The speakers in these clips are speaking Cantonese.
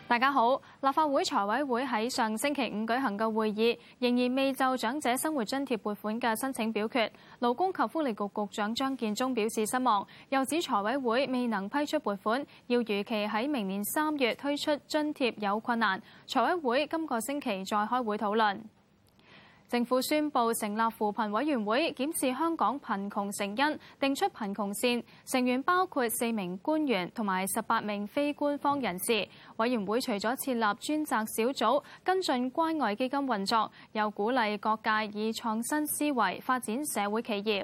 大家好，立法會財委會喺上星期五舉行嘅會議，仍然未就長者生活津貼撥款嘅申請表決。勞工及福利局局長張建宗表示失望，又指財委會未能批出撥款，要如期喺明年3月推出津貼有困難。財委會今個星期再開會討論。政府宣布成立扶貧委員會，檢視香港貧窮成因，定出貧窮線，成員包括4名官員同埋18名非官方人士。委員會除咗設立專責小組跟進關愛基金運作，又鼓勵各界以創新思維發展社會企業。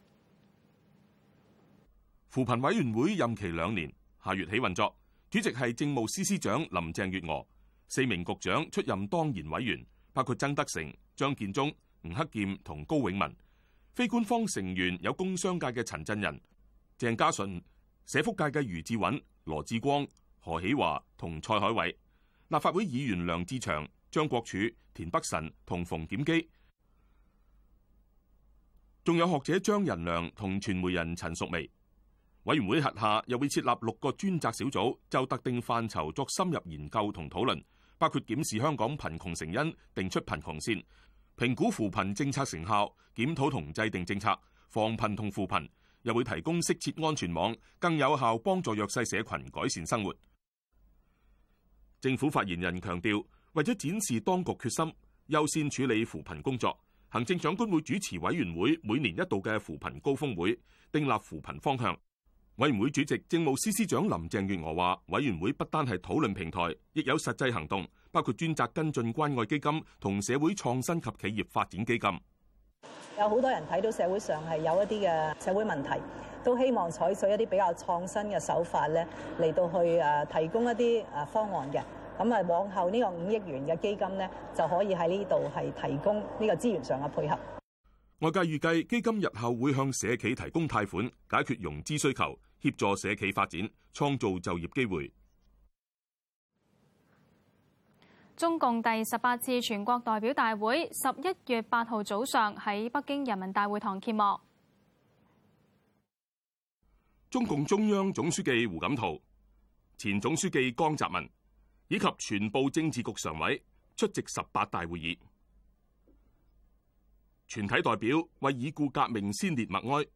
扶貧委員會任期2年，下月起運作，主席係政務司司長林鄭月娥，4名局長出任當然委員，包括曾德成、張建宗、吳克儉同高永文。非官方成員有工商界嘅陳振仁、鄭家純、社福界嘅余志允、羅致光、何喜華同蔡海偉。立法會議員梁志祥、張國柱、田北辰同馮檢基，仲有學者張仁良同傳媒人陳淑薇。委員會轄下又會設立6個專責小組，就特定範疇作深入研究同討論，包括檢視香港貧窮成因，定出貧窮線，評估扶貧政策成效，檢討同制定政策，防貧同扶貧，又會提供適切安全網，更有效幫助弱勢社群改善生活。政府發言人強調，為咗展示當局決心，優先處理扶貧工作，行政長官會主持委員會每年1度嘅扶貧高峰會，訂立扶貧方向。委員會主席政務司司長林鄭月娥話，委員會不單係討論平台，亦有實際行動，包括專責跟進關愛基金同社會創新及企業發展基金。 有好多人睇到社會上係有一啲嘅社會問題，都希望採取一啲比較創新嘅手法咧，嚟到去提供一啲方案嘅。咁啊，往後呢個5億元嘅基金咧，就可以喺呢度係提供呢個資源上嘅配合。 外界預計基金日後會向社企提供貸款，解決融資需求，協助社企發展，創造就業機會。 中共第18次全國代表大會11月8號早上喺北京人民大會堂揭幕。 中共中央總書記胡錦濤、前總書記江澤民以及全部政治局常委出席18大會議。全體代表為已故革命先烈默哀，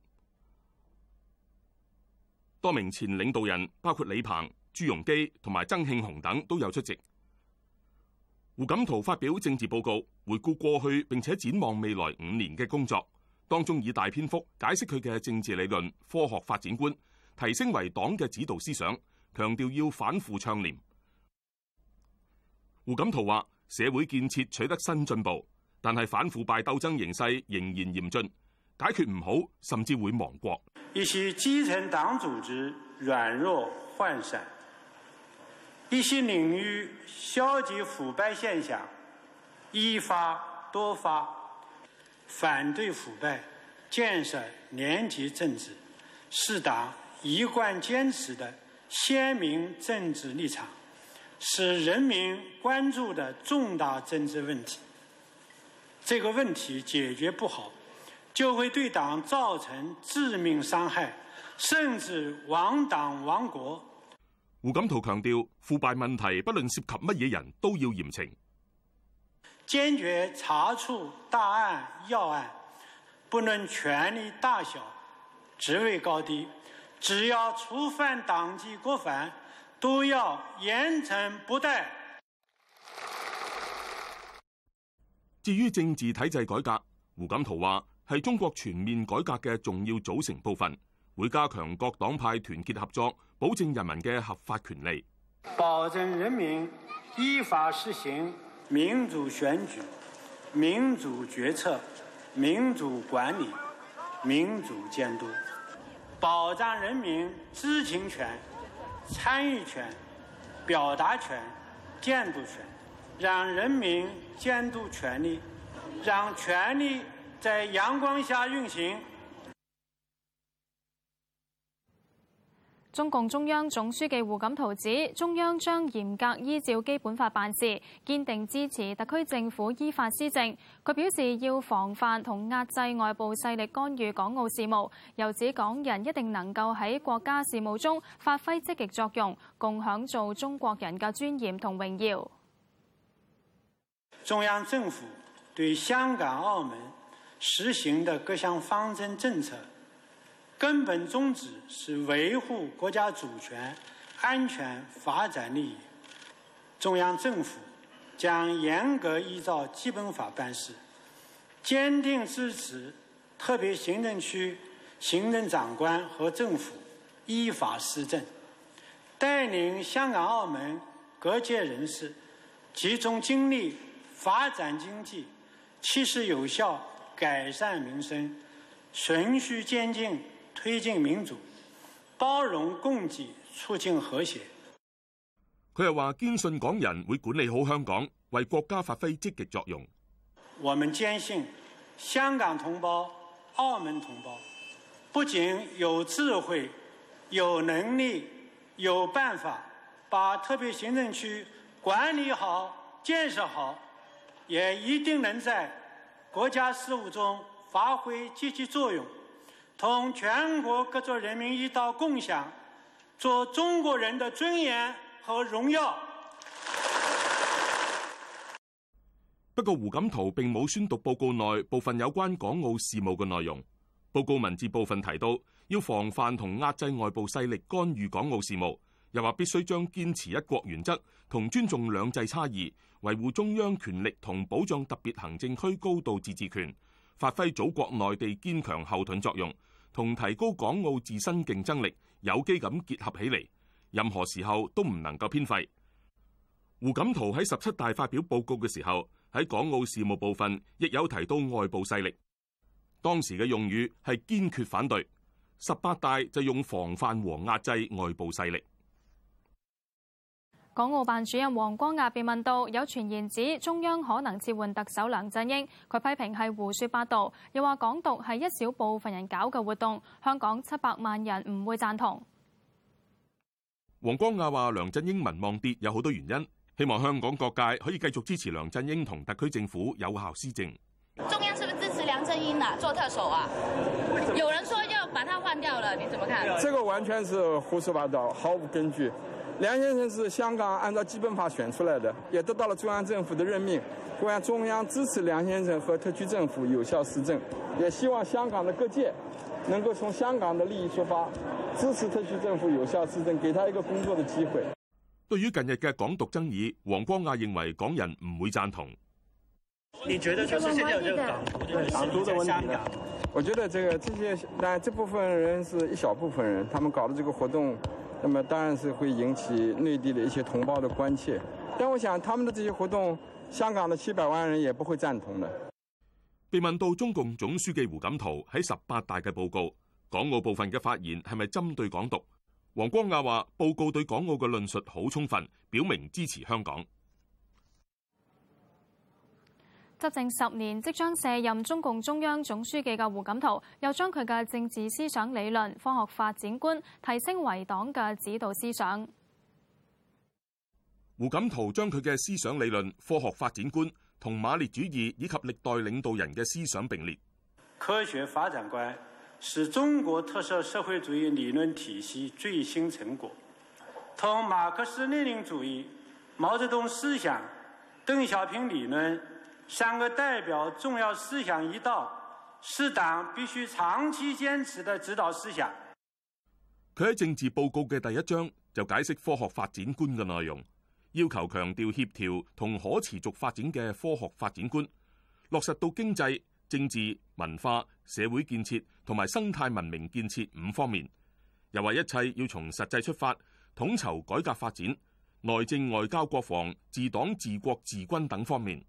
多名前領導人包括李鵬、朱鎔基同埋曾慶紅等都有出席。胡錦濤發表政治報告，回顧過去並且展望未來5年嘅工作，當中以大篇幅解釋佢嘅政治理論、科學發展觀，提升為黨嘅指導思想，強調要反腐倡廉。胡錦濤話：社會建設取得新進步，但係反腐敗鬥爭形勢仍然嚴峻，解決唔好，甚至會亡國。 一些基層黨組織軟弱渙散，一些領域消極腐敗現象一發多發，反對腐敗、建設廉潔政治是黨一貫堅持的鮮明政治立場，是人民關注的重大政治問題。這個問題解決不好，就會對黨造成致命傷害，甚至亡黨亡國。 胡錦濤強調，腐敗問題不論涉及乜嘢人都要嚴懲， 堅決查處大案要案，不論權力大小、職位高低，只要觸犯黨紀國範，都要嚴懲不貸。 至於政治體制改革，胡錦濤話係中國全面改革嘅重要組成部分，會加強各黨派團結合作，保證人民嘅合法權利， 保證人民依法實行民主選舉、民主決策、民主管理、民主監督，保障人民知情權、參與權、表達權、監督權，讓人民監督權力，讓權力在陽光下運行。 中共中央總書記胡錦濤指，中央將嚴格依照基本法辦事，堅定支持特區政府依法施政。佢表示要防範同壓制外部勢力干預港澳事務，又指港人一定能夠喺國家事務中發揮積極作用，共享做中國人嘅尊嚴同榮耀。 中央政府對香港、澳門實行的各項方針政策，根本宗旨是維護國家主權、安全、發展利益。中央政府將嚴格依照基本法辦事，堅定支持特別行政區行政長官和政府依法施政，帶領香港、澳門各界人士集中精力發展經濟，切實有效改善民生，循序漸進推進民主、包容共濟、促進和諧。 佢又話堅信港人會管理好香港，為國家發揮積極作用。 我們堅信香港同胞、澳門同胞不僅有智慧、有能力、有辦法把特別行政區管理好、建設好，也一定能在國家事務中發揮積極作用，同全國各族人民一道共享，做中國人的尊嚴和榮耀。 不過胡錦濤並冇宣讀報告內部分有關港澳事務嘅內容。報告文字部分提到，要防範同壓制外部勢力干預港澳事務，又話必須將堅持一國原則同尊重兩制差異，維護中央權力同保障特別行政區高度自治權，發揮祖國內地堅強後盾作用，同提高港澳自身競爭力有機咁結合起嚟，任何時候都唔能夠偏廢。胡錦濤喺17大發表報告嘅時候，喺港澳事務部分亦有提到外部勢力，當時嘅用語係堅決反對，18大就用防範和壓制外部勢力。 港澳辦主任黃光亞被問到有傳言指中央可能撤換特首梁振英，佢批評係胡說八道，又話港獨係一小部分人搞嘅活動，香港700萬人唔會贊同。 黃光亞話梁振英民望跌有好多原因，希望香港各界可以繼續支持梁振英同特區政府有效施政。 中央是不是支持梁振英啊做特首啊？有人說要把他換掉了，你怎麼看？ 這個完全是胡說八道，毫無根據。梁先生是香港按照基本法選出來的，也得到了中央政府的任命。中央支持梁先生和特區政府有效施政，也希望香港的各界能夠從香港的利益出發，支持特區政府有效施政，給他一個工作的機會。 對於近日嘅港獨爭議，黃光亞認為港人唔會贊同。 你覺得就是現在有這個港獨的問題呢？ 我覺得這些，但這部分人是一小部分人，他們搞的這個活動，那麼當然是會引起內地的一些同胞的關切。但我想他們的這些活動，香港的700萬人也不會贊同的。 被問到中共總書記胡錦濤喺18大嘅報告，港澳部分嘅發言係咪針對港獨？黃光亞話：報告對港澳嘅論述好充分，表明支持香港。 執政10年，即將卸任中共中央總書記嘅胡錦濤，又將佢嘅政治思想理論、科學發展觀提升為黨嘅指導思想。 胡錦濤將佢嘅思想理論、科學發展觀同馬列主義以及歷代領導人嘅思想並列。 科學發展觀是中國特色社會主義理論體系最新成果，同馬克思列寧主義、毛澤東思想、鄧小平理論3個代表重要思想一道，是黨必須長期堅持的指導思想。 佢喺政治報告嘅第1章就解釋科學發展觀嘅內容，要求強調協調同可持續發展嘅科學發展觀，落實到經濟、政治、文化、社會建設同埋生態文明建設5方面。又話一切要從實際出發，統籌改革發展，內政外交國防、治黨治國治軍等方面。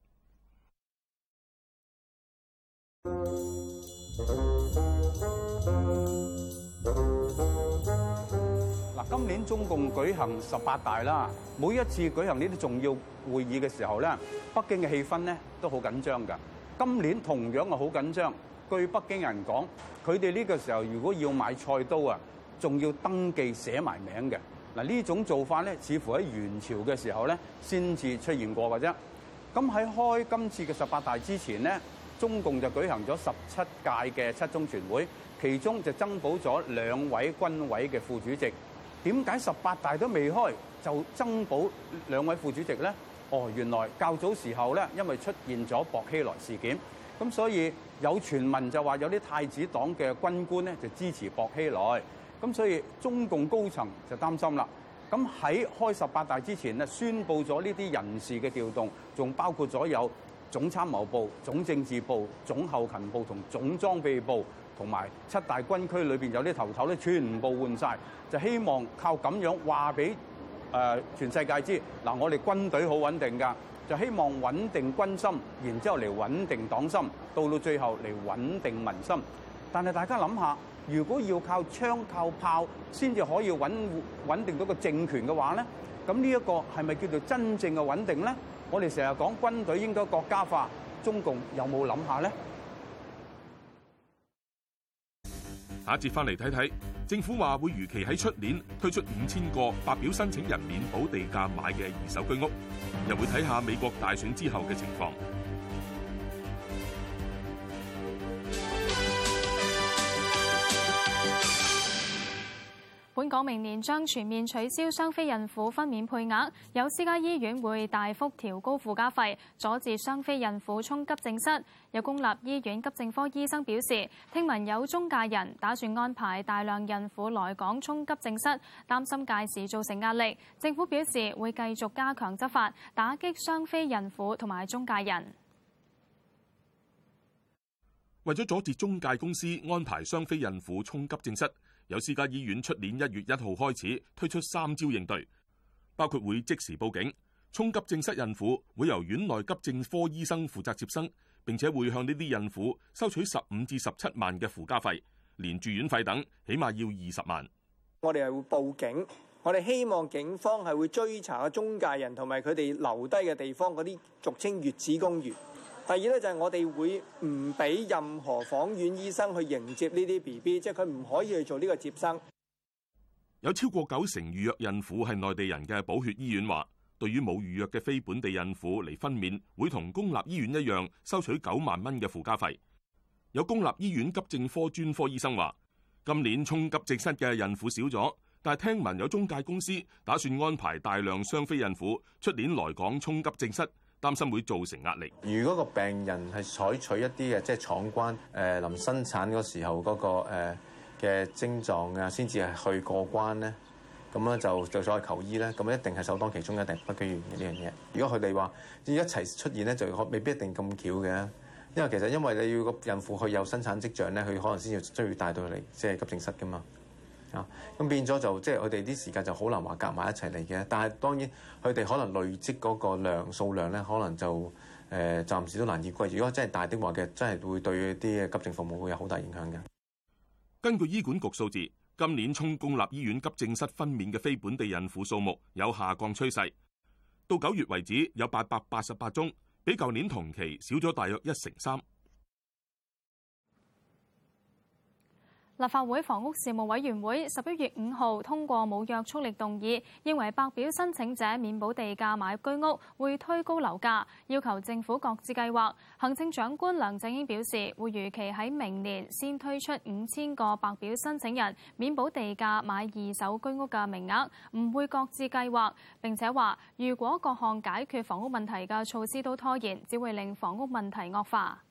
今年中共舉行18大啦，每一次舉行呢啲重要會議嘅時候咧，北京嘅氣氛咧都好緊張㗎。今年同樣係好緊張。據北京人講，佢哋呢個時候如果要買菜刀啊， 仲要登記寫埋名嘅。嗱，呢種做法咧，似乎喺元朝嘅時候咧先至出現過嘅啫。咁喺開今次嘅18大之前咧，中共就舉行咗17屆嘅七中全會，其中就增補咗2位軍委嘅副主席。點解18大都未開就增補2位副主席咧？原來較早時候咧，因為出現咗薄熙來事件，咁所以有傳聞就話有啲太子黨嘅軍官咧就支持薄熙來，咁所以中共高層就擔心啦。咁喺開18大之前咧，宣布咗呢啲人事嘅調動，仲包括咗有總參謀部、總政治部、總後勤部同總裝備部，同埋7大軍區裏邊有啲頭咧，全部換晒，就希望靠咁樣話俾全世界知，嗱，我哋軍隊好穩定㗎，就希望穩定軍心，然之後嚟穩定黨心，到最後嚟穩定民心。但係大家諗下，如果要靠槍靠炮先至可以穩定到個政權嘅話咧，咁呢一個係咪叫做真正嘅穩定咧？我哋成日講軍隊應該國家化，中共有冇諗下咧？ 下一節翻嚟睇睇，政府話會如期喺出年推出5000個白表申請人免補地價買嘅二手居屋，又會睇下美國大選之後嘅情況。 本港明年將全面取消雙非孕婦分娩配額，有私家醫院會大幅調高附加費，阻止雙非孕婦衝急症室。有公立醫院急症科醫生表示，聽聞有中介人打算安排大量孕婦來港衝急症室，擔心屆時造成壓力。政府表示會繼續加強執法，打擊雙非孕婦同埋中介人。 為咗阻止中介公司安排雙非孕婦衝急症室，有私家醫院出年1月1號開始推出3招應對，包括會即時報警，衝急症室孕婦會由院內急症科醫生負責接生，並且會向呢啲孕婦收取15至17萬嘅附加費，連住院費等起碼要20萬。 我哋係會報警，我哋希望警方係會追查中介人同埋佢哋留低嘅地方嗰啲俗稱月子公寓。第二咧就係我哋會唔俾任何房院醫生去迎接呢啲 BB， 即係佢唔可以去做呢個接生。 有超過90成預約孕婦係內地人嘅寶血醫院話，對於冇預約嘅非本地孕婦嚟分娩，會同公立醫院一樣收取9萬蚊嘅附加費。有公立醫院急症科專科醫生話，今年衝急症室嘅孕婦少咗，但係聽聞有中介公司打算安排大量雙非孕婦出年來港衝急症室，擔心會造成壓力。 如果個病人係採取一啲嘅即係闖關臨生產嗰時候嗰個嘅症狀啊，先至係去過關咧，咁咧就再求醫咧，咁一定係首當其衝，一定不拘完嘅呢樣嘢。如果佢哋話要一齊出現咧，就未必一定咁巧嘅，因為其實因為你要個孕婦去有生產跡象咧，佢可能先要需要帶到嚟即係急症室噶嘛。咁變咗就即係佢哋啲時間就好難話夾埋一齊嚟嘅，但係當然佢哋可能累積嗰個數量咧，可能就暫時都難以歸。如果真係大的話嘅，真係會對啲急症服務會有好大影響嘅。 根據醫管局數字，今年衝公立醫院急症室分娩嘅非本地孕婦數目有下降趨勢，到9月為止有888宗，比舊年同期少咗大約1成3。 立法會房屋事務委員會11月5號通過冇約束力動議，認為白表申請者免補地價買居屋會推高樓價，要求政府擱置計劃。行政長官梁振英表示，會如期喺明年先推出5000個白表申請人免補地價買二手居屋嘅名額，唔會擱置計劃。並且話，如果各項解決房屋問題嘅措施都拖延，只會令房屋問題惡化。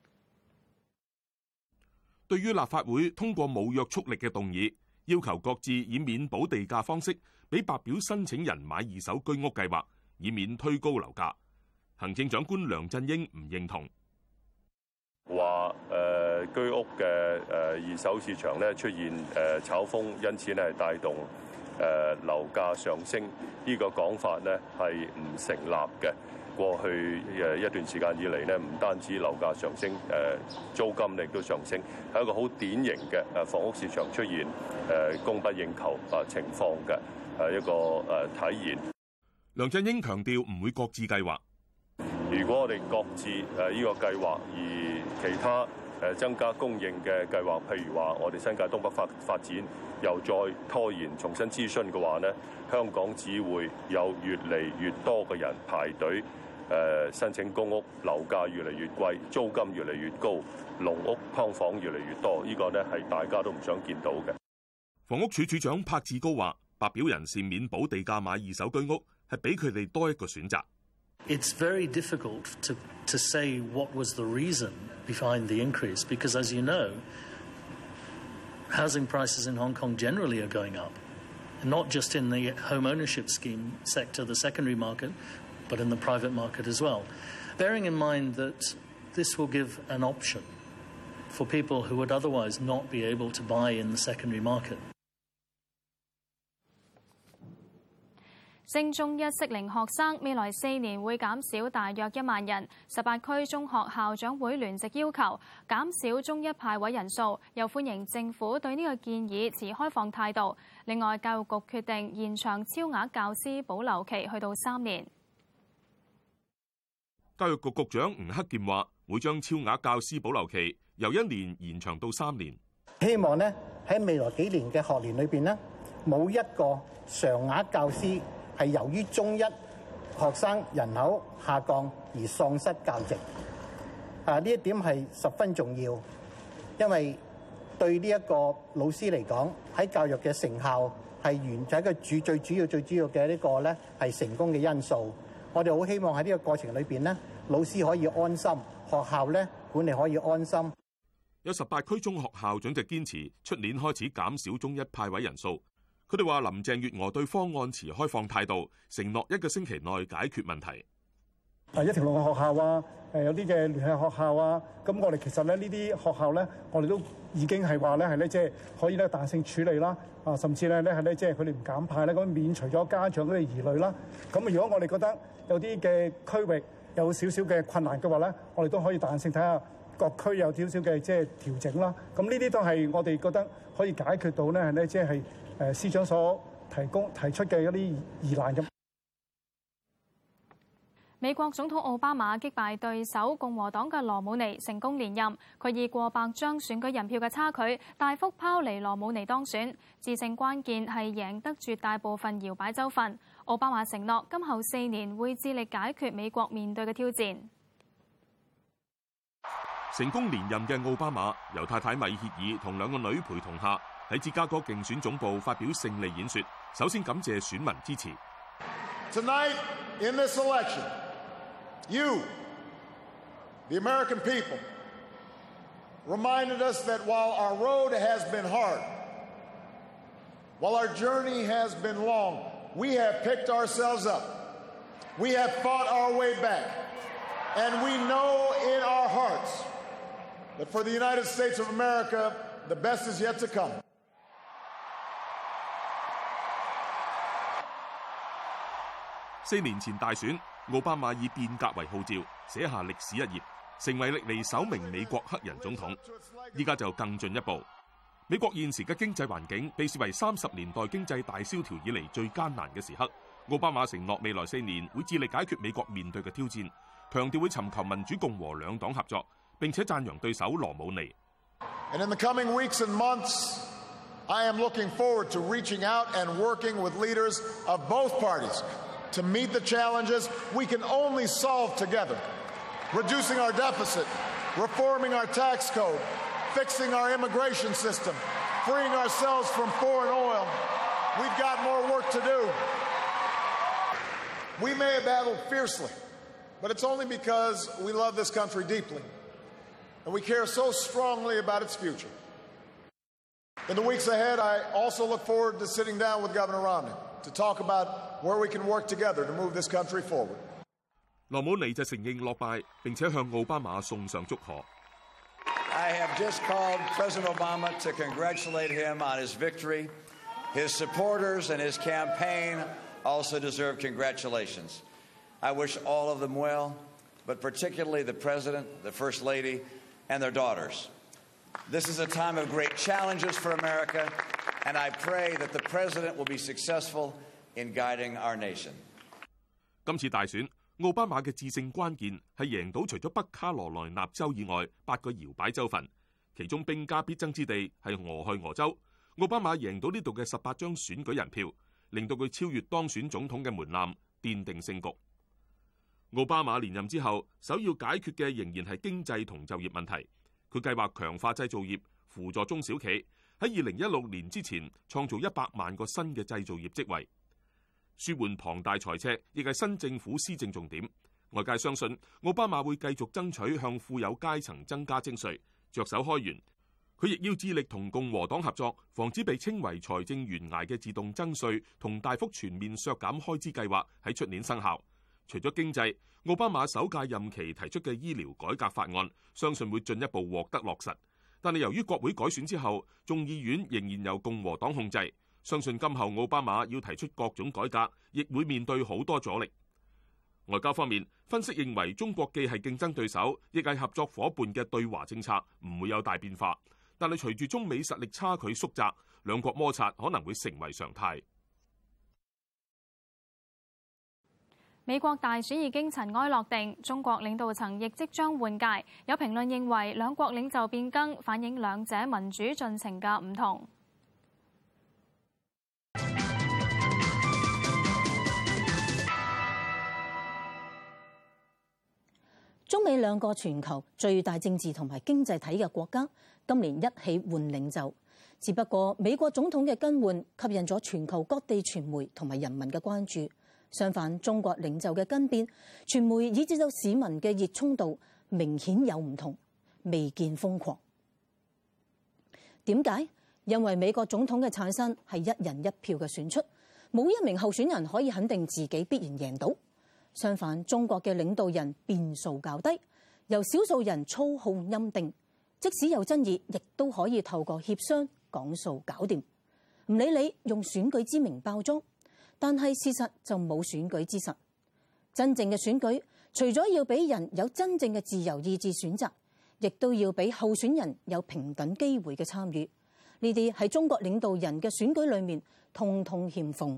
對於立法會通過冇約束力嘅動議，要求擱置以免補地價方式俾白表申請人買二手居屋計劃，以免推高樓價，行政長官梁振英唔認同， 話居屋嘅二手市場咧出現炒風，因此咧係帶動樓價上升，呢個講法咧係唔成立嘅。過去一段時間以嚟咧，唔單止樓價上升，租金亦都上升，係一個好典型嘅房屋市場出現供不應求情況嘅一個體現。 梁振英強調唔會擱置計劃。 如果我哋擱置呢個計劃，而其他增加供應嘅計劃，譬如話我哋新界東北發展又再拖延重新諮詢嘅話呢，香港只會有越嚟越多嘅人排隊申請公屋，樓價越嚟越貴，租金越嚟越高，籠屋劏房越嚟越多，呢個呢係大家都唔想見到嘅。 房屋署署長柏志高話，白表人士免補地價買二手居屋係俾佢哋多一個選擇。 It's very difficult to say what was the reason behind the increase because, as you know, housing prices in Hong Kong generally are going up, not just in the home ownership scheme sector, the secondary market, but in the private market as well. Bearing in mind that this will give an option for people who would otherwise not be able to buy in the secondary market. 升中一適齡學生未來4年會減少大約1萬人。18區中學校長會聯席要求減少中一派位人數，又歡迎政府對呢個建議持開放態度。另外，教育局決定延長超額教師保留期去到3年。 教育局局長吳克儉話，會將超額教師保留期由1年延長到3年。 希望呢喺未來幾年嘅學年裏邊呢，冇一個常額教師係由於中一學生人口下降而喪失教席。呢一點係十分重要，因為對呢一個老師嚟講，喺教育嘅成效係一個最主要嘅呢個咧係成功嘅因素。我哋好希望喺呢個過程裏邊呢，老師可以安心，學校咧管理可以安心。 有18區中學校長就堅持出年開始減少中一派位人數。佢哋話林鄭月娥對方案持開放態度，承諾1個星期內解決問題。 一條龍嘅學校啊，有啲嘅聯繫學校啊，咁我哋其實咧呢啲學校咧，我哋都已經係話咧係咧即係可以咧彈性處理啦，甚至咧係咧即係佢哋唔減派咧，咁免除咗家長嗰啲疑慮啦。咁如果我哋覺得有啲嘅區域有少少嘅困難嘅話咧，我哋都可以彈性睇下各區有少少嘅即係調整啦。咁呢啲都係我哋覺得可以解決到咧係咧即係司長所提出嘅一啲疑難咁。 美國總統奧巴馬擊敗對手共和黨嘅羅姆尼，成功連任。佢以過百張選舉人票嘅差距，大幅拋離羅姆尼當選。致勝關鍵係贏得絕大部分搖擺州份。奧巴馬承諾今後4年會致力解決美國面對嘅挑戰。 成功連任嘅奧巴馬由太太米歇爾同2個女陪同下，喺芝加哥競選總部發表勝利演說。首先感謝選民支持。 Tonight in this election, you, the American people, reminded us that while our road has been hard, while our journey has been long, we have picked ourselves up. We have fought our way back. And we know in our hearts that for the United States of America, the best is yet to come. 4年前大選，奧巴馬以變革為號召，寫下歷史一頁，成為歷嚟首名美國黑人總統。依家就更進一步，美國現時嘅經濟環境被視為30年代經濟大蕭條以嚟最艱難嘅時刻。奧巴馬承諾未來4年會致力解決美國面對嘅挑戰，強調會尋求民主共和兩黨合作，並且讚揚對手羅姆尼。 And in the coming weeks and months, I am looking forward to reaching out and working with leaders of both parties to meet the challenges we can only solve together. Reducing our deficit, reforming our tax code, fixing our immigration system, freeing ourselves from foreign oil. We've got more work to do. We may have battled fiercely, but it's only because we love this country deeply, and we care so strongly about its future. In the weeks ahead, I also look forward to sitting down with Governor Romney to talk about where we can work together to move this country forward. 羅姆尼就承認落敗，並且向奧巴馬送上祝賀。 I have just called President Obama to congratulate him on his victory. His supporters and his campaign also deserve congratulations. I wish all of them well, but particularly the President, the First Lady, and their daughters. This is a time of great challenges for America, and I pray that the President will be successful in guiding our nation. 今次大選， 奧巴馬嘅致勝關鍵係贏到除咗北卡羅來納州以外8個搖擺州份，其中兵家必爭之地係俄亥俄州。奧巴馬贏到呢度嘅18張選舉人票，令到佢超越當選總統嘅門檻，奠定勝局。奧巴馬連任之後，首要解決嘅仍然係經濟同就業問題。佢計劃強化製造業，輔助中小企，喺2016年之前創造100萬個新嘅製造業職位。舒緩龐大財赤亦係新政府施政重點。外界相信奧巴馬會繼續爭取向富有階層增加徵稅，着手開源。佢亦要致力同共和黨合作，防止被稱為財政懸崖嘅自動增稅同大幅全面削減開支計劃喺出年生效。除咗經濟，奧巴馬首屆任期提出嘅醫療改革法案，相信會進一步獲得落實。但係由於國會改選之後，眾議院仍然由共和黨控制，相信今後奧巴馬要提出各種改革，亦會面對好多阻力。外交方面，分析認為中國既係競爭對手，亦係合作伙伴嘅對華政策唔會有大變化。但係隨住中美實力差距縮窄，兩國摩擦可能會成為常態。 美國大選已經塵埃落定，中國領導層亦即將換屆。有評論認為兩國領袖變更反映兩者民主進程嘅唔同。 中美兩個全球最大政治同埋經濟體嘅國家，今年一起換領袖。只不過美國總統嘅更換吸引咗全球各地傳媒同埋人民嘅關注。相反，中國領袖嘅更變，傳媒以至到市民嘅熱衷度明顯有唔同，未見瘋狂。點解？因為美國總統嘅產生係一人一票嘅選出，冇一名候選人可以肯定自己必然贏到。相反，中國嘅領導人變數較低，由少數人操控欽定，即使有爭議，亦都可以透過協商講數搞掂，唔理你用選舉之名包裝。但係事實就冇選舉之實。真正嘅選舉，除咗要俾人有真正嘅自由意志選擇，亦都要俾候選人有平等機會嘅參與。呢啲喺中國領導人嘅選舉裏面，通通欠奉。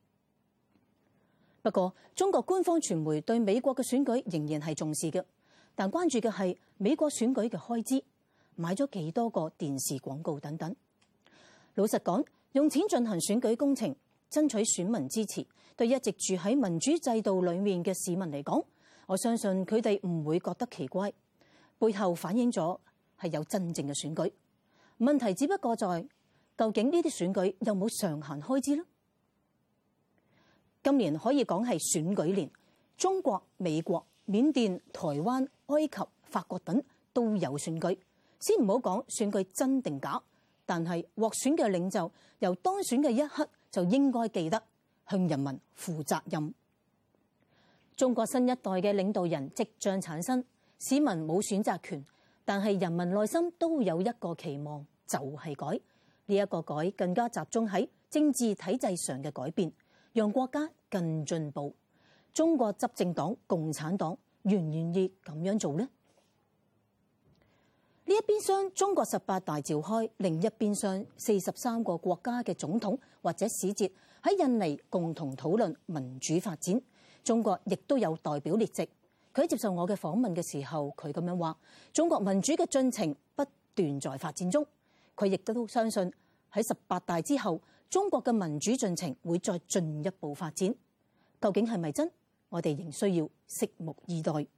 不過，中國官方傳媒對美國嘅選舉仍然係重視嘅，但關注嘅係美國選舉嘅開支，買咗幾多個電視廣告等等。老實講，用錢進行選舉工程，爭取選民支持，對一直住喺民主制度裏面嘅市民嚟講，我相信佢哋唔會覺得奇怪。背後反映咗係有真正嘅選舉。問題只不過在究竟呢啲選舉有冇上限開支呢？今年可以講係選舉年，中國、美國、緬甸、台灣、埃及、法國等都有選舉。先唔好講選舉真定假，但係獲選嘅領袖由當選嘅一刻就應該記得向人民負責任。中國新一代嘅領導人即將產生，市民冇選擇權，但係人民內心都有一個期望，就係改。呢一個改更加集中喺政治體制上嘅改變，讓國家更進步。中國執政黨共產黨願唔願意咁樣做呢？呢一邊廂中國18大召開，另一邊廂43個國家嘅總統或者使節喺印尼共同討論民主發展。中國亦都有代表列席。佢接受我嘅訪問嘅時候，佢咁樣話：中國民主嘅進程不斷在發展中。佢亦都相信喺18大之後，中國嘅民主進程會再進一步發展。究竟係咪真？我哋仍需要拭目以待。